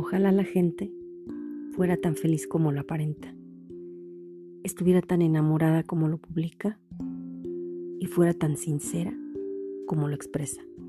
Ojalá la gente fuera tan feliz como lo aparenta, estuviera tan enamorada como lo publica y fuera tan sincera como lo expresa.